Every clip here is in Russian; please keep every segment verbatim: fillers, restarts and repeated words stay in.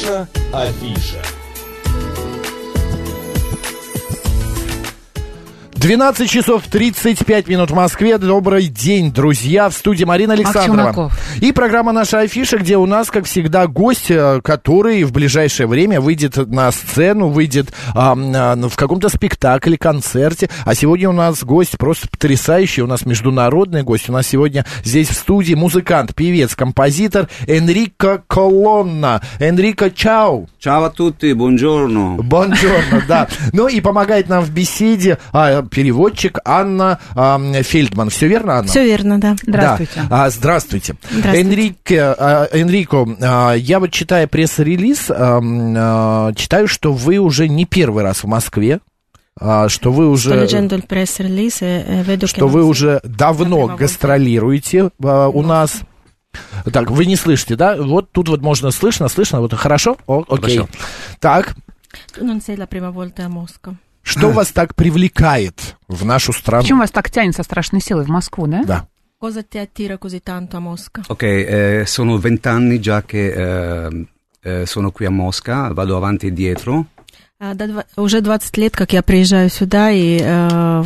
Наша афиша. двенадцать часов тридцать пять минут в Москве. Добрый день, друзья. В студии Марина Александрова. И программа «Наша афиша», где у нас, как всегда, гость, который в ближайшее время выйдет на сцену, выйдет а, а, в каком-то спектакле, концерте. А сегодня у нас гость просто потрясающий. У нас международный гость. У нас сегодня здесь в студии музыкант, певец, композитор Энрико Колонна. Энрико, чао. Ciao a tutti, buongiorno. Buongiorno, да. Ну и помогает нам в беседе а, переводчик Анна а, Фельдман. Все верно, Анна? Все верно, да. Здравствуйте. Да. А, здравствуйте. Здравствуйте. Энрике, а, Энрико, а, я вот читая пресс-релиз, а, а, читаю, что вы уже не первый раз в Москве. А, что вы уже, что вы уже давно гастролируете а, у нас. Так, вы не слышите, да? Вот тут вот можно слышно, слышно, вот хорошо? О, окей. Хорошо. Так. Что вас так привлекает в нашу страну? Почему вас так тянет со страшной силой в Москву, да? Да. Ok, eh, sono vent'anni già che eh, eh, sono qui a Mosca, vado avanti e dietro. Уже двадцать лет, как я приезжаю сюда и э,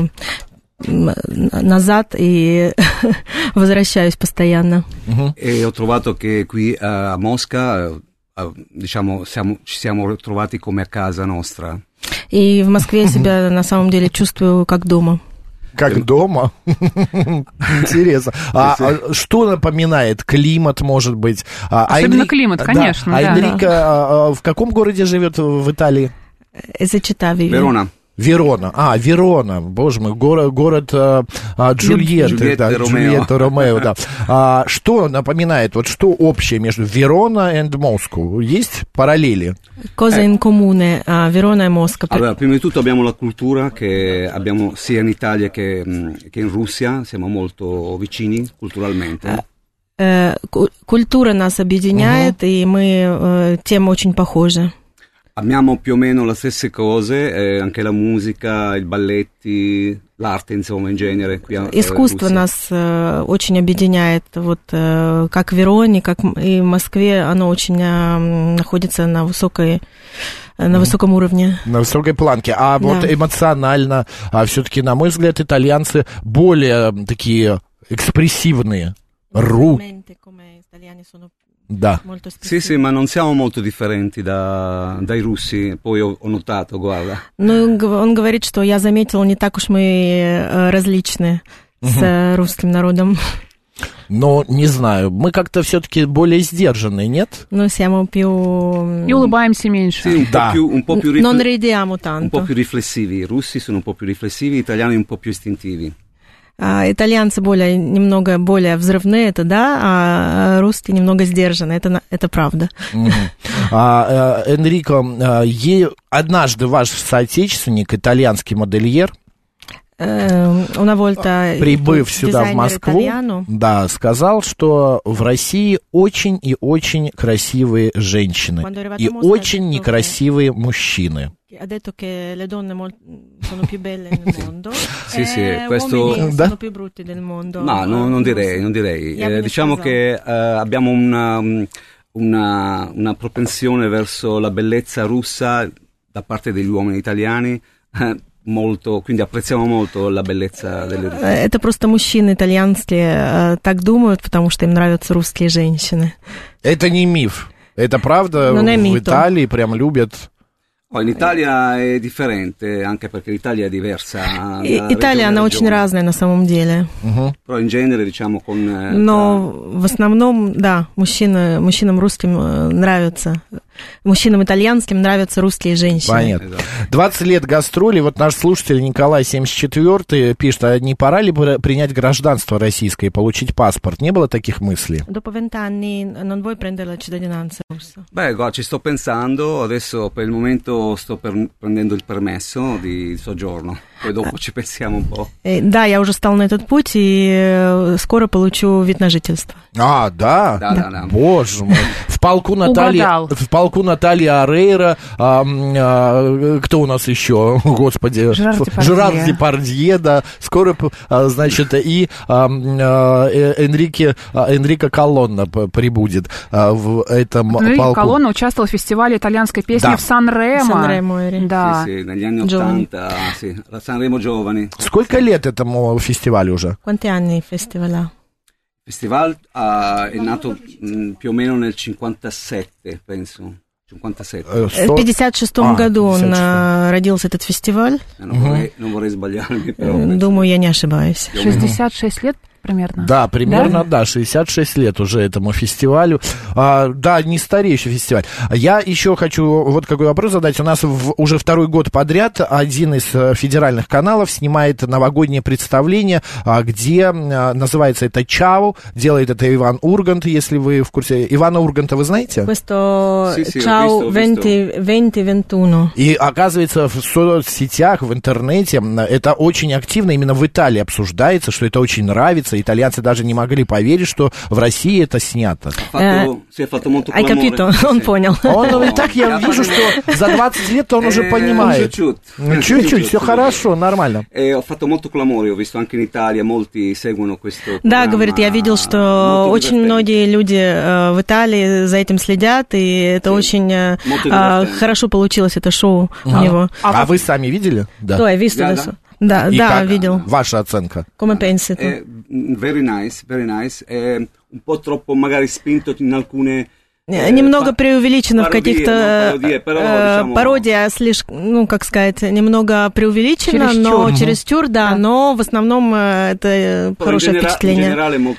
назад и возвращаюсь постоянно. Uh-huh. E ho trovato che qui a Mosca, uh, diciamo, siamo, ci siamo trovati come a casa nostra. И в Москве я себя на самом деле чувствую как дома. Как дома? Интересно. А, а что напоминает? Климат, может быть? Особенно а Энри... климат, конечно. Да. А да. Энрико а, в каком городе живет в Италии? Верона. Верона. А, Верона. Боже мой, город, город а, а, Джульетты. Джульетта да, Джульетта Ромео, да. А, что напоминает, вот что общее между Верона и Москвой? Есть параллели? Cosa in comune a Verona e Mosca? Allora, prima di tutto abbiamo la cultura che abbiamo sia in Italia che, che in Russia, siamo molto vicini culturalmente. Культура нас объединяет, и мы тем очень похожи. Amiamo più o meno le stesse cose, eh, anche la musica, i balletti, l'arte, insomma, in genere. Qui a, Искусство eh, нас э, очень объединяет, вот э, как в Вероне, как и в Москве, оно очень э, находится на высокой, э, на высоком уровне. На высокой планке. А да. Вот эмоционально, а все-таки, на мой взгляд, итальянцы более такие экспрессивные. Ру. Da. Sì, sì, ma non siamo molto differenti da, dai russi, poi ho, ho notato, guarda. Ну, он говорит, что я заметил, не так уж мы различны угу. с русским народом. Но, не знаю, мы как-то все-таки более сдержанные, нет? Ну, siamo più... И улыбаемся меньше. Sì, un да. po' più, un po' più rifle... Non ridiamo tanto. Un po' più riflessivi, i russi sono un po' più riflessivi, gli italiani un po' più istintivi. А, итальянцы более, немного более взрывные, это да, а русские немного сдержаны, это, это правда. Mm-hmm. а, Энрико, а, е... однажды ваш соотечественник, итальянский модельер, прибыв сюда, в Москву, да, сказал, что в России очень и очень красивые женщины и очень некрасивые мужчины. Ha detto che le donne mol- sono più belle nel mondo sì, sì, e questo... uomini sono più brutti del mondo. No, no, non direi, non direi. Eh, diciamo che eh, abbiamo una, una, una propensione verso la bellezza russa da parte degli uomini italiani, eh, molto, quindi apprezziamo molto la bellezza delle russe. Это просто мужчины итальянские так думают, потому что им нравятся русские женщины. Это не миф, это правда. В Италии прям любят. Oh, in Italia è differente, anche perché l'Italia è diversa. Италия, она очень разная на самом деле. Uh-huh. Però in genere, diciamo, con... Но в основном, да, мужчины, мужчинам русским нравятся. Мужчинам итальянским нравятся русские женщины. Понятно. двадцать лет гастролей. Вот наш слушатель Николай, семьдесят четвёртый, пишет, а не пора ли принять гражданство российское и получить паспорт? Не было таких мыслей? Dopo vent'anni non vuoi prendere la cittadinanza russa? Beh, guarda, ci sto pensando. Adesso per il momento sto per, prendendo il permesso di soggiorno. Poi dopo ci pensiamo un po'. Да, я уже стал на этот путь и скоро получу вид на жительство. А, да? Да, да, да. Боже мой. В В полку Натальи, в полку Натальи Орейро, а, а, кто у нас еще, господи, Жерар Депардье. Жерар Депардье, да, скоро, а, значит, и а, а, Энрике, а, Энрико Колонна прибудет а, в этом Энрико полку. Колонна участвовал в фестивале итальянской песни да. в Сан-Ремо. Сан-Ремо, да. Sì, sì, negli anni ottanta, sì, la Sanremo Giovani. Сколько лет этому фестивалю уже? Quanti anni il festival? Il festival uh, è nato mh, più o meno nel cinquantasette, penso. cinquantasette. В пятьдесят шестом году он родился, этот фестиваль. Non vorrei, non vorrei sbagliarmi, però. Думаю, я не ошибаюсь. шестьдесят шесть лет примерно? Да, примерно, да, да шестьдесят шесть лет уже этому фестивалю. А, да, не старейший фестиваль. Я еще хочу вот какой вопрос задать. У нас в, уже второй год подряд один из федеральных каналов снимает новогоднее представление, где называется это «Чау». Делает это Иван Ургант, если вы в курсе. Ивана Урганта вы знаете? Questo «Ciao двадцать двадцать И оказывается, в соцсетях, в интернете это очень активно именно в Италии обсуждается, что это очень нравится. Итальянцы даже не могли поверить, что в России это снято. Hai capito? Он понял. Он, и так я вижу, что за двадцать лет он уже понимает. Чуть-чуть. Чуть-чуть, все хорошо, нормально. Да, говорит, я видел, что очень многие люди в Италии за этим следят, и это очень хорошо получилось, это шоу у него. А вы сами видели? Да, я видел. Да, и да, как видел. Ваша оценка? Come pensi tu? Very nice, very nice. È un po' troppo magari spinto in alcune... Немного преувеличено в каких-то пародия, слишком, ну, как сказать, немного преувеличено, но чересчур, да, но в основном это хорошее впечатление.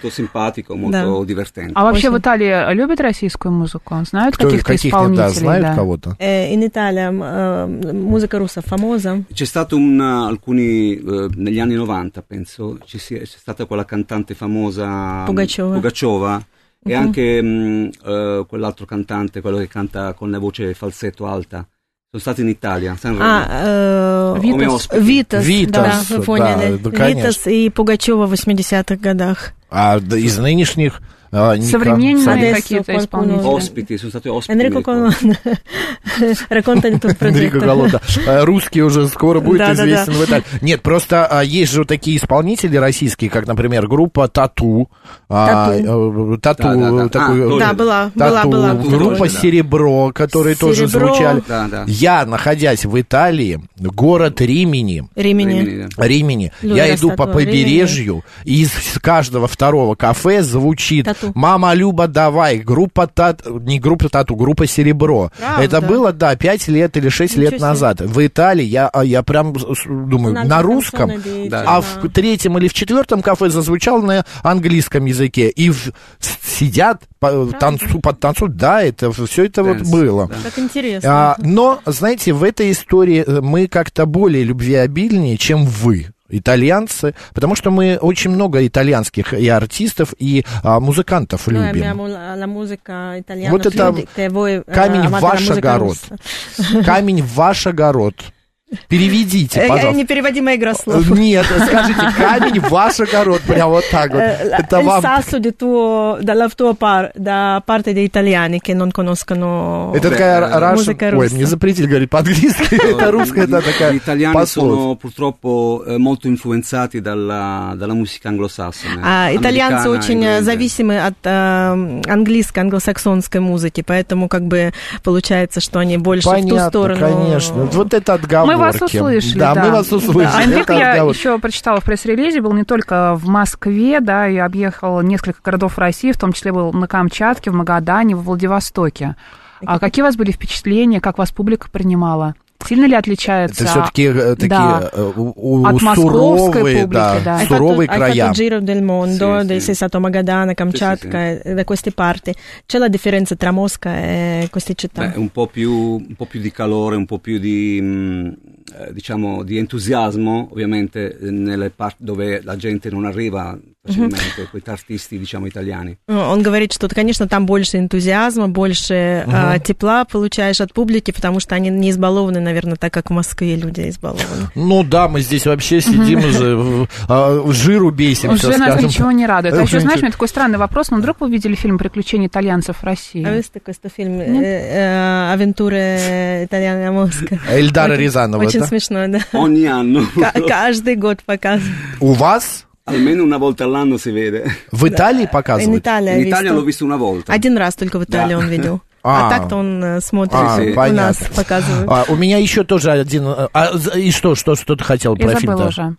А вообще в Италии любят российскую музыку? Знают каких-то исполнителей? Да, знают кого-то? In Italia musica russa famosa? C'è stato un, alcuni, negli anni novanta, penso, c'è stata quella cantante famosa Pugacheva. E uh-huh. anche mh, uh, quell'altro cantante, quello che canta con la voce falsetto alta. Sono stati in Italia. А, Витас, Витас, да, вы поняли. Витас и Пугачева в восьмидесятых годах. А из нынешних... Современные какие-то исполнители. Оспити, sono stati ospiti. Энрико Колонна. Racconta di tuo progetto. Энрико Колонна. Русский уже скоро будет известен в Италии. Нет, просто есть же такие исполнители российские, как, например, группа Тату. Тату. Да, была, была, была. Группа Серебро, которые тоже звучали. Я, находясь в Италии, город Римини. Римини. Римини. Я иду по побережью, и из каждого второго кафе звучит «Мама Люба, давай», группа Тату, не группа Тату, группа Серебро. Правда? Это было, да, пять лет или шесть Ничего лет себе. назад. В Италии я, я прям думаю, Надо на русском, да. а в третьем или в четвертом кафе зазвучал на английском языке. И в, сидят, танцу, под танцу, да, это все это Dance, вот было. Да. Как интересно. А, но, знаете, в этой истории мы как-то более любвеобильнее, чем вы. Итальянцы, потому что мы очень много итальянских и артистов, и а, музыкантов любим. Вот это камень в ваш огород. Камень в ваш огород. Переведите, пожалуйста. Непереводимая игра слов. Нет, скажите, камень в ваш огород, прям вот так вот. Это вам... sasso di tuo, dalla tua par, da parte degli italiani che non conoscono это такая музыка русская. Ой, мне запретили говорить по-английски, это русская, это такая Итальяне sono purtroppo molto influenzati dalla, dalla musica anglosassone. А итальянцы очень зависимы от английской, англосаксонской музыки, поэтому как бы получается, что они больше в ту сторону. Понятно, конечно. Вот это отговор. Мы вас услышали, да. да. мы вас услышали. Да. Энрико, я еще прочитала в пресс-релизе, был не только в Москве, да, и объехал несколько городов России, в том числе был на Камчатке, в Магадане, в Владивостоке. А какие у вас были впечатления, как вас публика принимала? Сильно ли отличается? Это все-таки такие да. у, у, от московской суровые, публики, да, да. суровые края. Hai fatto il giro del mondo, sì, sei stato a Magadana, Kamchatka, sì, sì. da queste parti. C'è la differenza tra Mosca e queste città? Beh, un po' più, un po' più di calore, un po' più di, eh, diciamo di entusiasmo, ovviamente nelle parti dove la gente non arriva facilmente, mm-hmm. questi artisti, diciamo, italiani. Он говорит, что, конечно, там больше энтузиазма, больше uh-huh. э, тепла получаешь от публики, потому что они не избалованы, наверное, так, как в Москве люди избалованы. Ну да, мы здесь вообще сидим уже, жиру бесимся. Уже нас ничего не радует. А еще, знаешь, у меня такой странный вопрос, ну, вдруг вы видели фильм «Приключения итальянцев в России»? А есть такой фильм «Авентуры итальяна Москва». Эльдара Рязанова, Очень да? смешно, да. Ogni anno. Каждый год показывают. У вас? Almeno una volta all'anno si vede. В Италии показывают? In Italia l'ho visto una volta. Один раз только в Италии он видел. А, а так-то он смотрит, а, у понятно. нас показывают. А, у меня еще тоже один... А, и что, что, что ты хотел про фильм? Я забыла уже.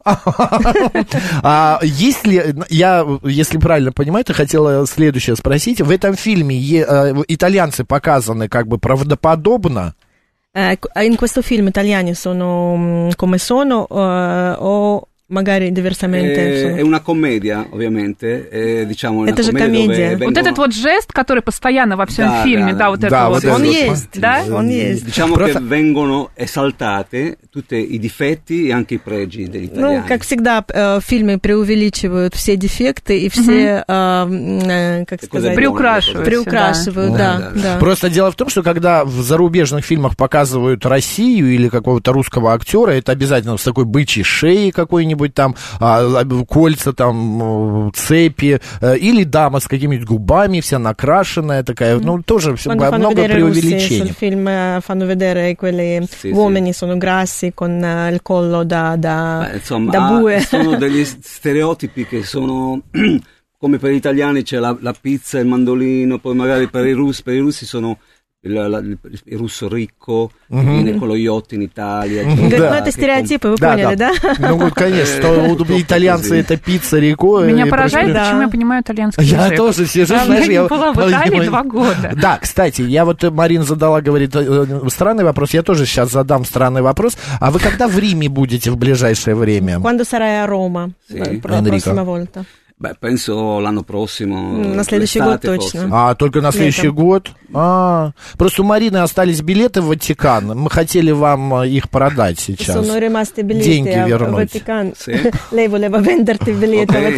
А, если, я, если правильно понимаю, ты хотела следующее спросить. В этом фильме е, итальянцы показаны как бы правдоподобно? In questo film italiani sono come sono o... magari diversamente. È, è una commedia, ovviamente, è, diciamo, это же комедия. Вот этот вот жест, который постоянно во всем да, фильме, да, да, вот да, это вот вот. Он есть, да, он есть. Diciamo Просто... che vengono esaltate tutti i difetti e anche i pregi degli italiani. Ну, как всегда, в фильме преувеличивают все дефекты и все, mm-hmm. как сказать, приукрашивают. Приукрашивают, да, да, да. Просто дело в том, что когда в зарубежных фильмах показывают Россию или какого-то русского актера, это обязательно с такой бычьей шеей какой-нибудь там, а, кольца там, цепи, или дама с какими-то губами, вся накрашенная такая, ну, тоже Quando много преувеличений. Sul film fanno vedere quelli sì, uomini sì. sono grassi con il collo da, da, Beh, insomma, da bue. Sono degli stereotipi che sono... Come per gli italiani c'è la, la pizza, il mandolino, poi magari per i russi, per i russi sono... Il, il, il russo ricco, mm-hmm. viene con lo yacht in Italia. Mm-hmm. Cioè, да. Ну, это стереотипы, вы да, поняли, да? да? Ну, конечно, что итальянцы это пицца, реко. Меня поражает, почему я понимаю итальянский язык. Я тоже сижу, знаешь, я... Я не была в Италии два года. Да, кстати, я вот, Марина задала, говорит, странный вопрос, я тоже сейчас задам странный вопрос. А вы когда в Риме будете в ближайшее время? Quando sarai a Roma? La prossima volta. Beh, penso l'anno prossimo. На следующий год точно. А, только на следующий Летом. год? А, просто у Марины остались билеты в Ватикан. Мы хотели вам их продать сейчас. Sono rimasti biglietti Деньги a вернуть. Ватикан. Sì. Lei voleva venderti i biglietti a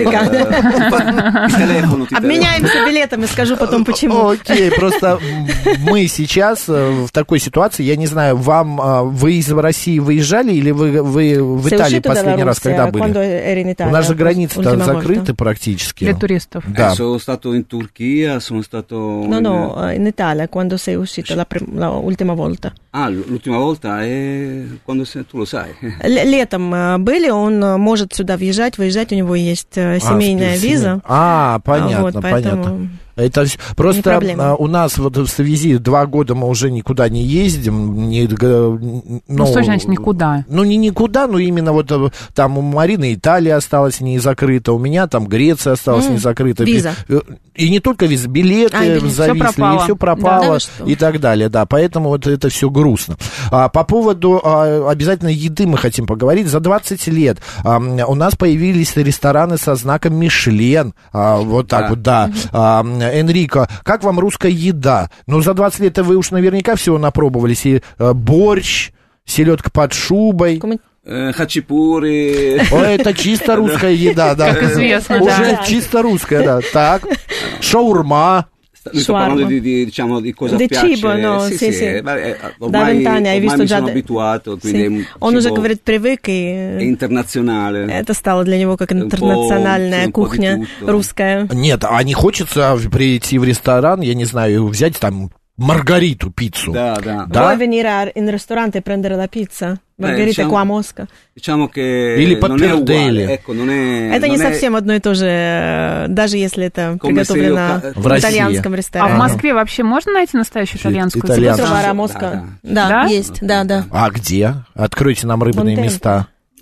Ватикан. Обменяемся билетами, скажу потом почему. Окей, просто мы сейчас в такой ситуации, я не знаю, вам, вы из России выезжали или вы, вы в Италии последний раз когда были? У нас же границы-то закрыты практически. Для туристов. Да. Eh, sono stato in Turchia, sono stato... No, no, in Italia, quando sei uscita la, prim- la ultima volta. Ah, l'ultima volta è quando sei, tu lo sai. Л- летом были, он может сюда въезжать, выезжать, у него есть семейная а, виза. А, понятно, вот, поэтому... понятно. Это просто у нас вот в связи два года мы уже никуда не ездим. Не, ну, ну, что значит никуда? Ну, не никуда, но именно вот там у Марины Италия осталась не закрыта, у меня там Греция осталась mm, не закрыта. Виза. И не только виза, билеты а, зависли, все пропало, и все пропало, да, и так далее, да, поэтому вот это все грустно. А, по поводу а, обязательно еды мы хотим поговорить. За двадцать лет а, у нас появились рестораны со знаком Мишлен, а, вот так да. вот, да. Mm-hmm. А, Энрико, как вам русская еда? Ну, за двадцать лет вы уж наверняка всего напробовались. И э, борщ, селедка под шубой. Хачапури. О, это чисто русская еда, да. Как известно, да. Уже чисто русская, да. Так, шаурма. Mi sto parlando di, di, diciamo, di cosa di piace. Cibo, no, sì, sì, sì. sì. Beh, ormai, da vent'anni hai visto mi già... sono abituato, quindi sì. È un Он уже, говорит, привык, и... È internazionale. Это стало для него как интернациональная кухня русская. Нет, а не хочется прийти в ресторан, я не знаю, взять там Маргариту пиццу. Да, да. Vuoi venire in ristorante e prendere la pizza? Маргарита, eh, diciamo, qua a Mosca. Diciamo che Или non è uguale, ecco, non è, это non не è... совсем одно и то же, даже если это приготовлено io... в итальянском ресторане. А в Москве вообще можно найти настоящую итальянскую Итальянскую. Москва, да, да, есть, да, да. А где? Откройте нам рыбные Монтень. места.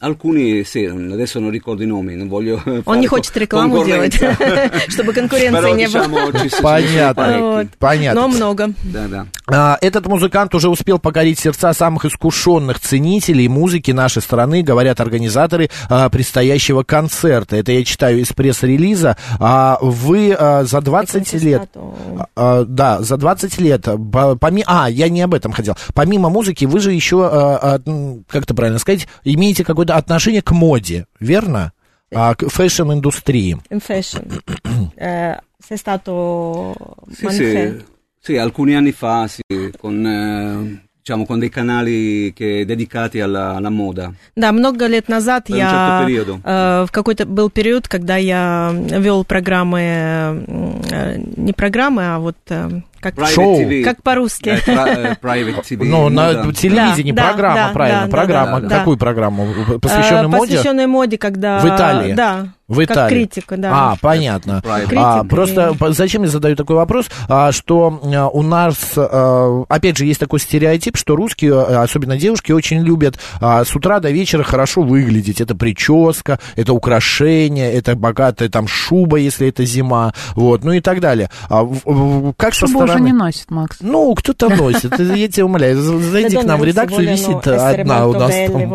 Alcuni, sì, adesso non ricordo i nomi, non voglio Он не хочет рекламу делать, чтобы конкуренции не было. Понятно, понятно. Но много. Да, да. Этот музыкант уже успел покорить сердца самых искушенных ценителей музыки нашей страны, говорят организаторы предстоящего концерта. Это я читаю из пресс-релиза. Вы за двадцать лет... Да, за двадцать лет... Помимо, а, я не об этом хотел. Помимо музыки, вы же еще, как это правильно сказать, имеете какое-то отношение к моде, верно? А, к фэшн-индустрии. Fashion. Sei stato sì, sì, sì, alcuni anni fa, sì, con, eh, diciamo, con dei canali che, dedicati alla, alla moda. Да, много лет назад per я... Un certo э, в какой-то был период, когда я вел программы, э, не программы, а вот... Э, как шоу. Как по-русски. Private ти ви. Ну, на телевидении да, программа, да, правильно, да, программа. да, да, Какую да. программу? Посвященную моде? Посвященную моде, когда... В Италии? Да. В Италии. Как критика, да. А, понятно. Критика, А, просто и... зачем я задаю такой вопрос, а, что а, у нас, а, опять же, есть такой стереотип, что русские, особенно девушки, очень любят а, с утра до вечера хорошо выглядеть. Это прическа, это украшение, это богатая там шуба, если это зима, вот, ну и так далее. А, как Шубу со стороны... уже не носит, Макс. Ну, кто-то носит, я тебя умоляю. Зайди к нам в редакцию, висит одна у нас там.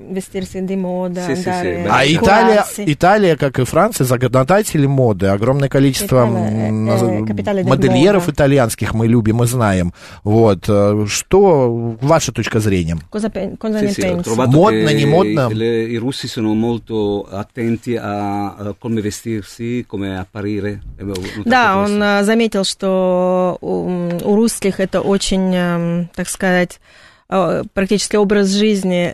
А Италия, Италия, как и Франция, законодатели моды. Огромное количество модельеров итальянских мы любим и знаем. Вот. Что ваша точка зрения? Модно, не модно? I russi sono molto attenti a come vestirsi, come apparire. Да, он заметил, что у русских это очень, так сказать, практически образ жизни,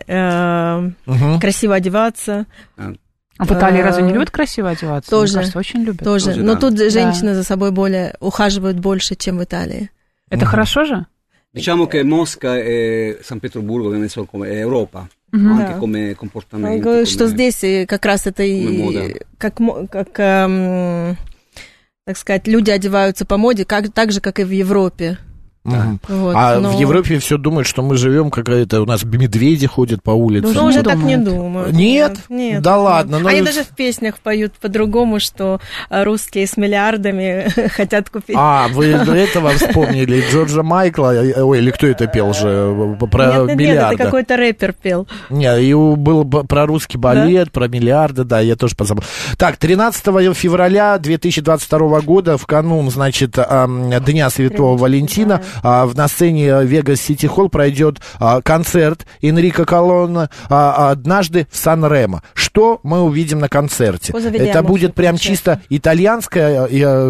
угу. красиво одеваться. А в Италии разве не любят красиво одеваться? Тоже. Мне кажется, очень любят. Тоже. Тоже, но да. тут женщины да. за собой более ухаживают больше, чем в Италии. Это угу. хорошо же? Diciamo che Mosca e San Pietroburgo ovviamente sono come Europa, uh-huh. anche да. come comportamento. Говорит, что здесь как раз это и как, как эм, так сказать, люди одеваются по моде, как, так же, как и в Европе. Да. Вот, а но... в Европе все думают, что мы живем, какая-то у нас медведи ходят по улице. Ну, уже так не думают. Нет? Нет. Да ладно. Ну... Они даже в песнях поют по-другому, что русские с миллиардами хотят купить. А, вы до этого вспомнили Джорджа Майкла, ой, или кто это пел же, про нет, нет, миллиарды. Нет, это какой-то рэпер пел. Нет, и был про русский балет, да? Про миллиарды, да, я тоже позабыл. Так, тринадцатого февраля две тысячи двадцать второго года, в канун, значит, Дня Святого Валентина, да. На сцене Вегас Сити Холл пройдет а, концерт Энрико Колонна а, «Однажды в Сан-Ремо». Что мы увидим на концерте? Это будет прям чисто итальянская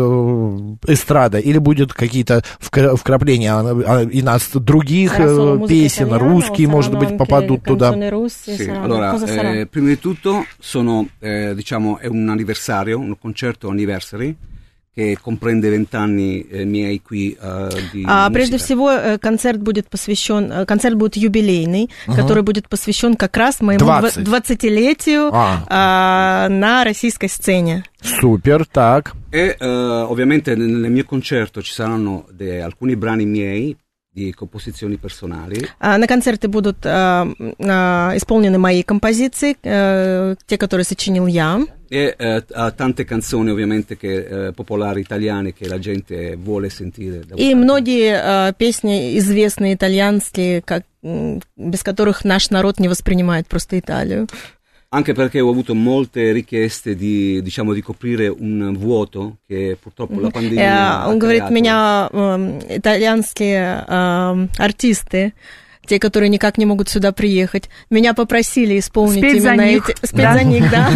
э, эстрада или будет какие-то вкрапления и нас других песен, русские, может быть, попадут туда? Sì. Allora, eh, prima di tutto sono, eh, diciamo, è un anniversario, un concerto anniversary, che comprende vent'anni miei qui uh, di а, прежде всего, концерт будет посвящен, концерт будет юбилейный, uh-huh. который будет посвящен как раз моему двадцатилетию а. а, на российской сцене. Супер, так. E uh, ovviamente nel mio concerto ci saranno de, alcuni brani miei di composizioni personali. А, на концерте будут а, а, исполнены мои композиции, а, те, которые сочинил я. E eh, tante canzoni ovviamente che, eh, popolari italiane che la gente vuole sentire. И многие uh, песни известные итальянские, как, без которых наш народ не воспринимает просто Италию. Anche perché ho avuto molte richieste di, diciamo, di coprire un vuoto che purtroppo la pandemia ha Он говорит, creato. меня э, итальянские э, артисты, те, которые никак не могут сюда приехать, меня попросили исполнить спеть именно за них. эти... Спеть да. за них, да.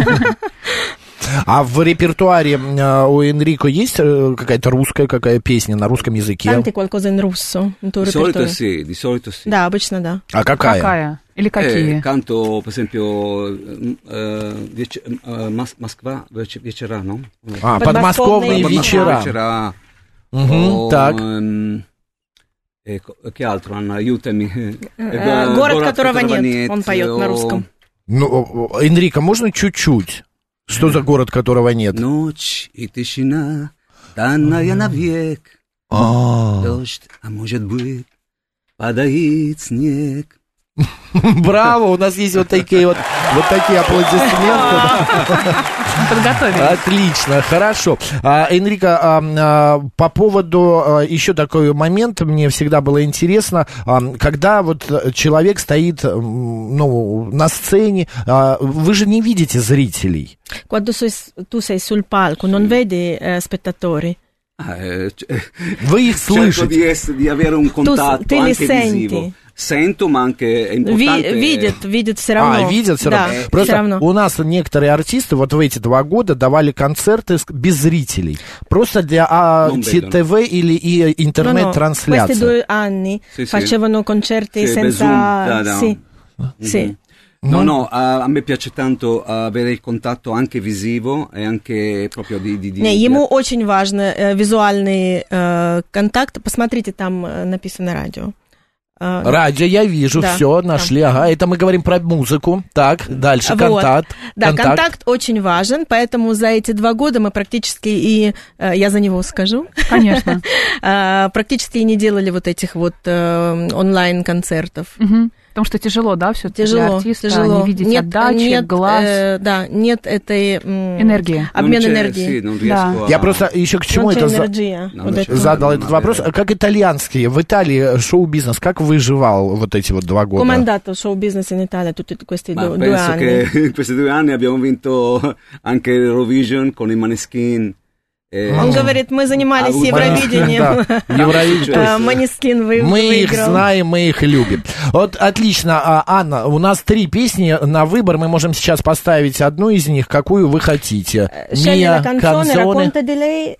А в репертуаре у Энрико есть какая-то русская какая песня на русском языке? Canti qualcosa in russo. Di solito sì, di solito sì. Да, обычно да. А какая? Какая? Или какие? Eh, canto, per esempio, uh, uh, Москва вечера, no? А, подмосковные вечера. вечера. Угу, так. E che altro, Anna, aiutami. Город, Город которого нет, нет, он поет на русском. Ну, Энрико, можно чуть-чуть? Что за город, которого нет? Ночь и тишина, данная навек. Дождь, а может быть, падает снег. Браво, у нас есть вот такие вот Вот такие аплодисменты. Подготовили. Отлично, хорошо. А, Энрико, а, а, по поводу а, еще такой момент, мне всегда было интересно, а, когда вот человек стоит, ну, на сцене, а, вы же не видите зрителей. Quando tu sei sul palco, non vedi eh, spettatori. Вы их слышите. Di, di avere un contatto tu, anche visivo. Sento, ma anche è importante... Видят, видят все равно. А, видят все да, равно. Просто все равно. У нас некоторые артисты вот в эти два года давали концерты без зрителей. Просто для а, ТВ или и интернет-трансляции. Questi due anni sì, facevano sì. concerti sì, senza... Da, da. Sì, mm-hmm. sì. No, no, a, a me piace tanto avere il contatto anche visivo и anche proprio di... di, di Не, ему di... очень важно э, визуальный э, контакт. Посмотрите, там э, написано радио. Э, радио, я вижу, да, все, нашли. Ага, это мы говорим про музыку. Так, дальше, вот. контакт. Да, контакт. контакт очень важен, поэтому за эти два года мы практически и... Э, я за него скажу. Конечно. Практически и не делали вот этих вот онлайн-концертов. Потому что тяжело, да, все тяжело, для артиста, тяжело. Не видеть нет, отдачи, нет, глаз. Э, да, нет этой... М- энергии. Обмен энергией. Да. Я просто еще к чему это за... вот это задал этот вопрос. Как итальянские, в Италии шоу-бизнес, как выживал вот эти вот два года? Come è andato show-business in Italia tutti questi Ma due, due anni? Penso che in questi due anni abbiamo vinto anche l'Eurovision con i Maneskin. Он говорит, мы занимались а, Евровидением. Måneskin выиграл. Мы их знаем, мы их любим. Вот отлично, Анна, у нас три песни на выбор. Мы можем сейчас поставить одну из них, какую вы хотите. Mia canzone, racconta di lei.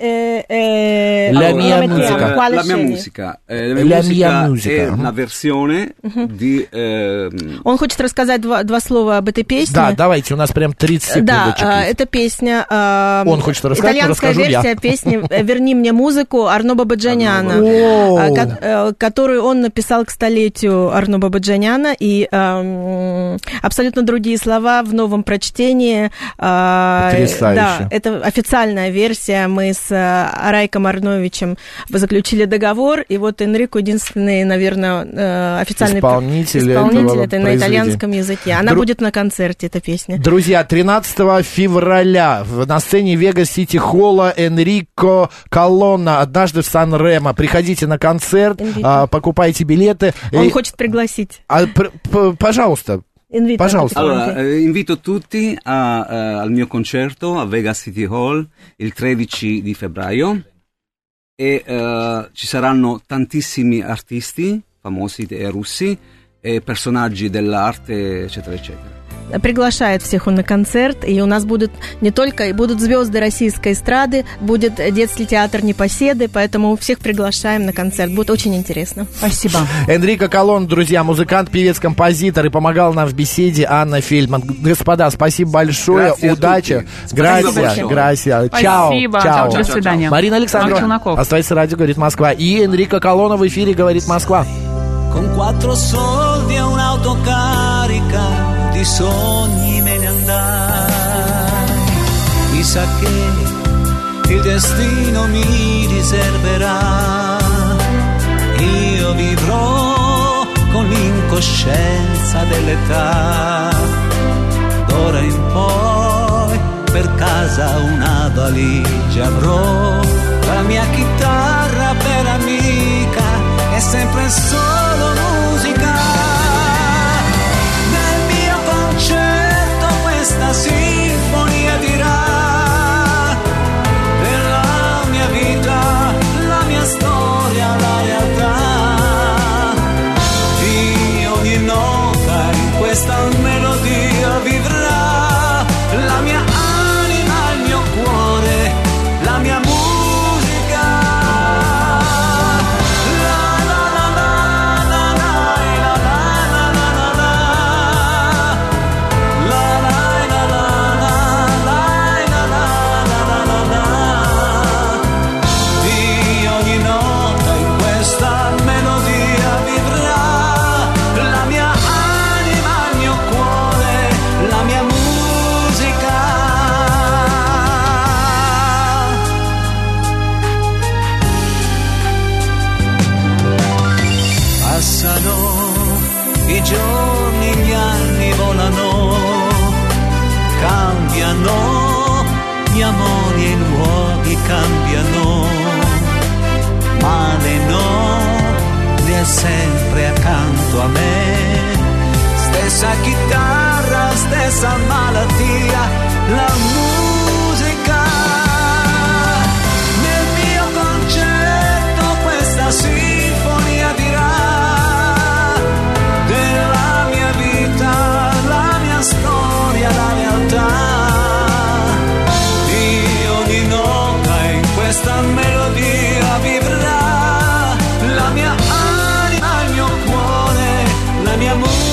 La mia musica. La mia musica. La mia musica è una versione di... Он хочет рассказать два слова об этой песне. Да, давайте, у нас прям тридцать секундочек. Да, эта песня... Он хочет рассказать, расскажу я. Песни «Верни мне музыку» Арно Бабаджаняна, которую он написал к столетию Арно Бабаджаняна, и э, абсолютно другие слова в новом прочтении. Потрясающе. Да, это официальная версия. Мы с Райком Арновичем заключили договор, и вот Энрико единственный, наверное, официальный исполнитель, исполнитель это на итальянском языке. Она Дру... будет на концерте, эта песня. Друзья, тринадцатого февраля на сцене Вега Сити Холла Энрико Колонна «Однажды в Сан-Ремо». Приходите на концерт, а, покупайте билеты. Он и... хочет пригласить. А, п- п- пожалуйста. Invito Пожалуйста. Allora, eh, invito tutti a, eh, al mio concerto a Vega City Hall il tredici di febbraio e eh, ci saranno tantissimi artisti famosi e russi e personaggi dell'arte, eccetera, eccetera. Приглашает всех он на концерт, и у нас будут не только, будут звезды российской эстрады, будет детский театр «Непоседы», поэтому всех приглашаем на концерт, будет очень интересно. Спасибо. Энрико Колонна, друзья, музыкант, певец, композитор, и помогал нам в беседе Анна Фельдман. Господа, спасибо большое, Грация, удачи. Грация, грация. Чао. Спасибо. Чао. До свидания. Марина Александрова. Оставайтесь, радио «Говорит Москва». И Энрико Колонна в эфире «Говорит Москва». Con quattro soldi e un'autocarica di sogni me ne andai. Mi sa che il destino mi riserverà. Io vivrò con l'incoscienza dell'età. D'ora in poi per casa una valigia avrò. La mia chitarra per amica è sempre solo musica. Nel mio concerto questa sinfonia dirà della mia vita, la mia storia, la realtà di ogni nota in questa melodia vivrà la mia anima, il mio cuore, la mia musica. La cambiano, gli amori e i luoghi cambiano, ma lei no, lei è sempre accanto a me. Stessa chitarra, stessa malattia, la musica. Nel mio concerto questa sinfonia dirà della mia vita, la mia storia, la realtà. Di ogni nota in questa melodia vivrà la mia anima, il mio cuore, la mia musica.